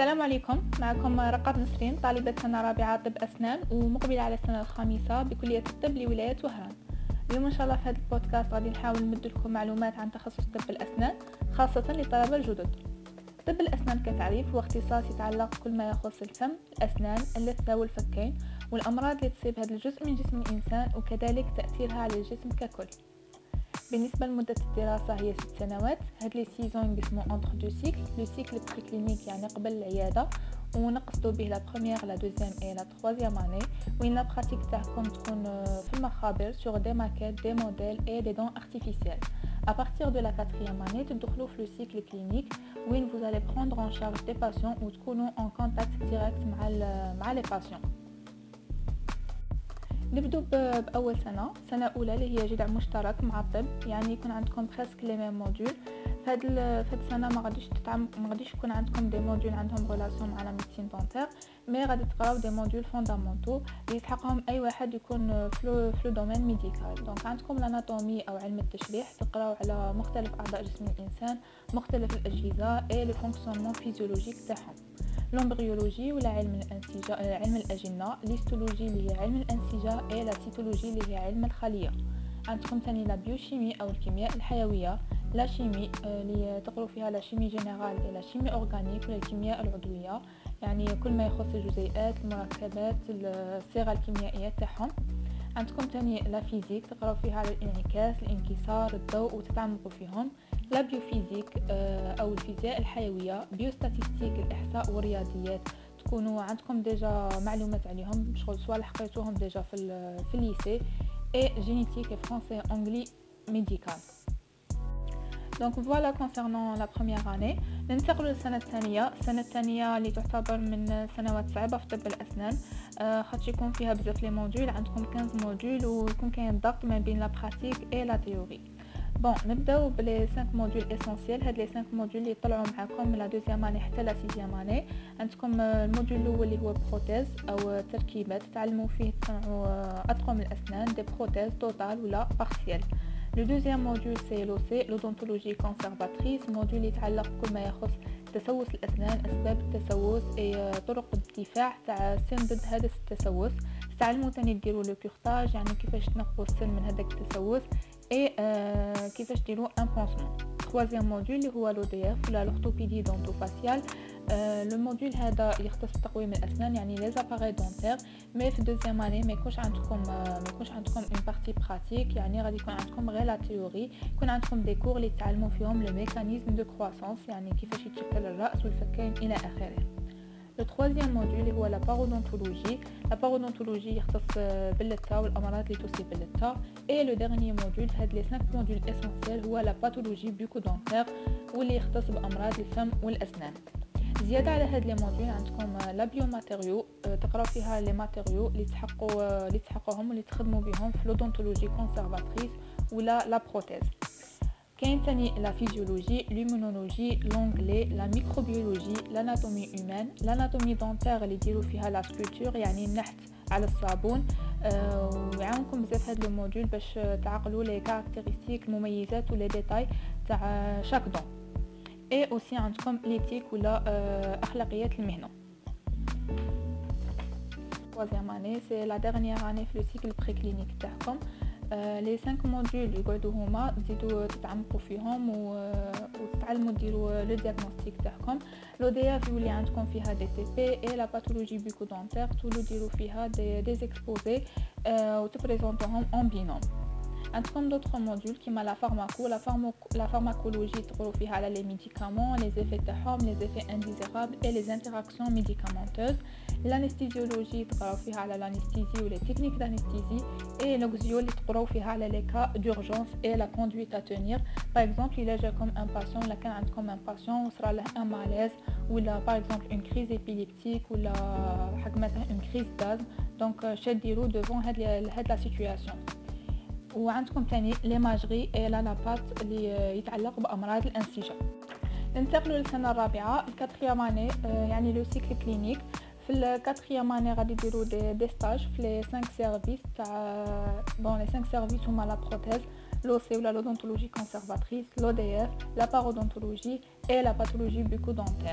السلام عليكم. معكم رقات نسرين، طالبة سنة رابعة طب أسنان ومقبلة على السنة الخامسة بكلية الطب لولاية وهران. اليوم إن شاء الله في هذا البودكاست غادي نحاول نمد لكم معلومات عن تخصص طب الأسنان خاصة للطلبة الجدد. طب الأسنان كتعريف هو اختصاص يتعلق بكل ما يخص الفم، الأسنان، اللثة والفكين والأمراض اللي تصيب هذا الجزء من جسم الإنسان وكذلك تأثيرها على الجسم ككل. بالنسبة لمدة الدراسة هي 6 سنوات. هاد لي سيزون يقسمو انتر دو سيكل، لو سيكل بريكلينيك يعني قبل العيادة ونقصدو به لا بروميير لا دوزيام اي لا تروازيام اني، وين لا براتيك تاعكم تكون في المخابر سور دي ماكيت دي موديل اي دي دون ارتيفيسيال. À partir de la 4e année, تدخلوا في le cycle clinique où vous allez prendre en charge des patients ou تكونوا en contact direct مع les patients. نبدو باول سنه اولى اللي هي جدع مشترك مع الطب، يعني يكون عندكم بريسك لي ميم موديول. فهاد السنه ما غاديش يكون عندكم دي موديول عندهم ريلاسيون مع لا ميديسين دونتير، مي غادي تقراو دي موديول فوندامونتو اللي يسحقهم اي واحد يكون في لو دومين ميديكال. دونك عندكم الاناتومي او علم التشريح، تقراو على مختلف اعضاء جسم الانسان، مختلف الاجهزه اي لو فونكسيونمون فيزيولوجيك تاعهم. لومبريولوجي ولا علم الانسجه، علم الاجنه، ليستولوجي اللي هي علم الانسجه، اي لا سيتولوجي اللي هي علم الخليه. عندكم ثاني لا بيوشيمي او الكيمياء الحيويه، لا شيمي اللي تقروا فيها لا شيمي جينيرال ولا لا شيمي اورغانيك ولا الكيمياء العضويه، يعني كل ما يخص الجزيئات، المركبات، الصيغه الكيميائيه تاعهم. عندكم ثاني لا فيزيك، تقراو فيها على الانعكاس، الانكسار، الضوء وتتعمقوا فيهم. لا بيوفيزيك او الفيزياء الحيويه، بيوستاتيستيك الاحصاء والرياضيات، تكونوا عندكم ديجا معلومات عليهم شغل صوالح قريتوهم ديجا في الليسي. اي جينيتيك فرونسي انجلي ميديكال. دونك فوالا كونسيرنون لا بروميير اني. ننتقلوا للسنه الثانيه. السنه الثانيه اللي تعتبر من سنوات صعبه في طب الاسنان، خاطش يكون فيها بزاف لي موديول، عندكم 15 موديول ويكون كاين ضغط ما بين لا براتيك اي لا تيوري. بون نبداو بلي 5 موديول اسونسيال. هاد لي 5 موديول اللي طلعوا معكم من لا دوزيام اني حتى لا سيزيام اني. عندكم الموديول الاول اللي هو بروتيز او تركيبات، تعلموا فيه تصنعوا اطقم الاسنان، دي بروتيز توتال ولا بارسيال. لو دوزيام موديول سي لو سي لودونتولوجي كونسيرفاتريس، موديول يتعلق بكل ما يخص تسوس الاسنان، اسباب التسوس اي طرق الدفاع تاع السن ضد هذا التسوس. تعلموا ثاني ديروا لو كورتاج، يعني كيفاش تنقوا السن من هذاك التسوس اي كيفاش ديروا ان بونسمون. troisième موديول اللي هو لو دي اف ولا لورتوبيدي دونتوفاسيال. لو موديول هذا يختص تقويم الاسنان، يعني لي زاباري دونتير، مي في دوزيام اني ما يكونش عندكم اون بارتي براتيك، يعني غادي يكون عندكم غير لا تيوري، يكون عندكم دي كور اللي تعلموا فيهم لو ميكانيزم دو كرواسونس، يعني كيفاش يتشكل الراس والفكين الى اخره. Le troisième module هو la parodonthologie. La parodonthologie يختص باللثة والأمراض اللي تصيب باللثة. Et le dernier module، هاد les 5 modules essentiels هو la pathologie bucco-dentaire واللي يختص بأمراض الفم والأسنان. زيادة على هاد لي موديول عندكم لا بيوماتيريو، تقراو فيها لي ماتيريو اللي تحقوهم واللي تخدموا بهم في لودونتولوجي كونسيرفاتريس ولا لا بروتيز. كاين ثاني لا فيزيولوجي، ليمونولوجي، لونغلي، لا ميكروبيولوجي، لاناتومي هيومان، لاناتومي دونتير اللي يديروا فيها لا سكولبتور يعني النحت على الصابون. ويعاونكم بزاف هاد لو موديول باش تعقلوا لي كاركتيرستيك، المميزات ولي ديتاي تاع شاك دون. اي اوسي عندكم ليتيك ولا اخلاقيات المهنه. troisième année c'est la dernière année في لو سيكل بريكلينيك تاعكم. لي 5 موديول يقعدوا هما تزيدوا تتعمقوا فيهم وتتعلموا ديروا لو دياغنوستيك تاعكم. لو دي اف يولي عندكم فيها دي تي بي اي لا باثولوجي بيكو دونتير، تولوا ديروا فيها دي اكسبوزي وتبريزونطوهم اون بينوم. عندكم دوطخ موديول كيما لا فارماكولوجي، تقروا فيها على لي ميديكامون، لي زيفي تاعهم، لي زيفي انديزيرابل اي لي انتراكسيون ميديكامونتوز. الانستيزيولوجي تقراو فيها على الانستيزي ولي تكنيك دانستيزي. اي لوكزيو اللي تقراو فيها على لي كا دورجونس اي لا كوندويت ا تونير. باغ اكزومبل الا جاكم ان باسيون، ولا كان عندكم ان باسيون وصرا له ان ماليز ولا باغ اكزومبل اون كريز ايبيليبتيك ولا حق مثلا اون كريز دازم، دونك شديروا ديفون هاد لا سيتوياسيون. وعندكم ثاني ليماجري اي لا بات اللي يتعلق بامراض الانسجه. ننتقلوا للسنه الرابعه، الكاتريام اني، يعني لو سيكل كلينيك. في الكاتريام اني غادي ديروا دي ستاج في لي 5 سيرفيس تاع لي 5 سيرفيس هما لا بروتيز، لو سي ولا لودونتولوجي كونسيرفاتريس، لو دي اف، لا باrodonthologie et la pathologie bucco-dentaire.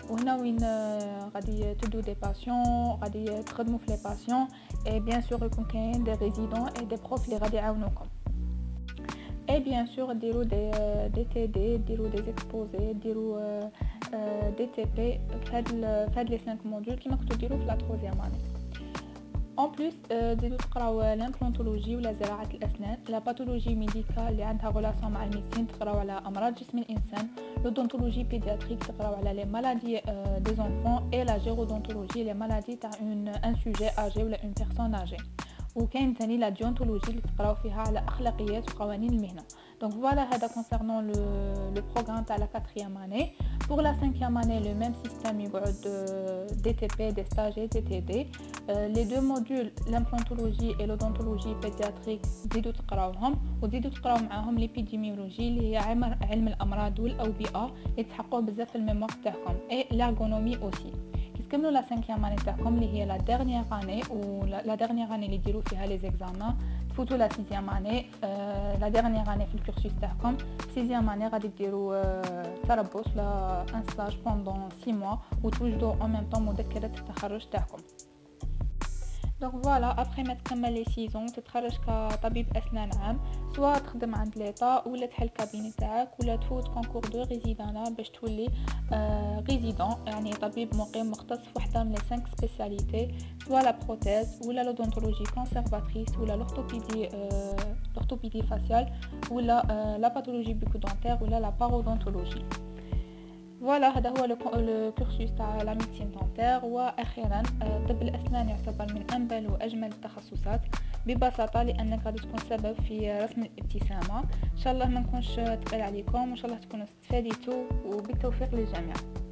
وهنا وين غادي تدو دي باسيون، غادي تخدموا في لي باسيون، اي بيان سور يكون كاين دي ريزيدون اي دي بروف اللي غادي يعاونوكم. اي بيان سور ديروا دي تي دي، ديروا دي اكسبوزي، ديروا دي تي بي في هاد لي 5 موديول كيما كنتو ديروا في لا 3 اني. اون بليس تزيدوا تقراو لامبلونتولوجي ولا زراعه الاسنان، لا باثولوجي ميديكال اللي عندها غولاسيون مع الميديسين تقراو على امراض جسم الانسان، لودونتولوجي بيدياتريك تقراو على لي مالادي دي زونفون، اي لا جيرودونتولوجي لي مالادي تاع ان سوجي اجي ولا اون بيرسون اجي. وكاين ثاني لا ديونتولوجي اللي تقراو فيها على اخلاقيات وقوانين المهنه. دونك فوالا هذا كونسيرنون لو بروغرام تاع لا 4 اني. pour la 5e année le même système يقعد DTP des stages et TTD. les deux modules l'implantologie et l'odontologie pédiatrique تزيدوا تقراوهم وتزيدوا تقراو معاهم l'épidémiologie اللي هي علم الامراض والاوبئه اللي تحققوا بزاف في الميموار تاعكم et l'ergonomie aussi. كملوا لا 5e اني تاعكم اللي هي لا ديرنيير اني و لا ديرنيير اني اللي ديروا فيها لي زيكزامان، تفوتوا لا 6e اني لا ديرنيير اني في الكورسوس تاعكم. 6e اني غادي ديروا تربص لا ان ستاج بوندون 6 موا وتوجدوا ان ميم طون مذكره التخرج تاعكم. دونك فوالا ابري ما تكمل لي سيزون تتخرج كطبيب اسنان عام، سواء تخدم عند ليطا ولا تحل كابيني تاعك ولا تفوت كونكور دو ريزيدانا باش تولي ريزيدون، يعني طبيب مقيم مختص في وحده من لي 5 سبيسياليتي، سواء لا بروتيز ولا لودونتولوجي كونسيرفاتريس ولا لورثوبيدي فاسيال ولا لا باثولوجي بيكودونتير ولا لا بارودونتولوجي. فوالا هذا هو لو كورسوس تاع لا ميديسين دونتير. واخيرا طب الاسنان يعتبر من انبل واجمل التخصصات ببساطه لانك غادي تكون سبب في رسم الابتسامه. ان شاء الله ما نكونش تقيل عليكم وان شاء الله تكونوا استفاديتوا وبالتوفيق للجميع.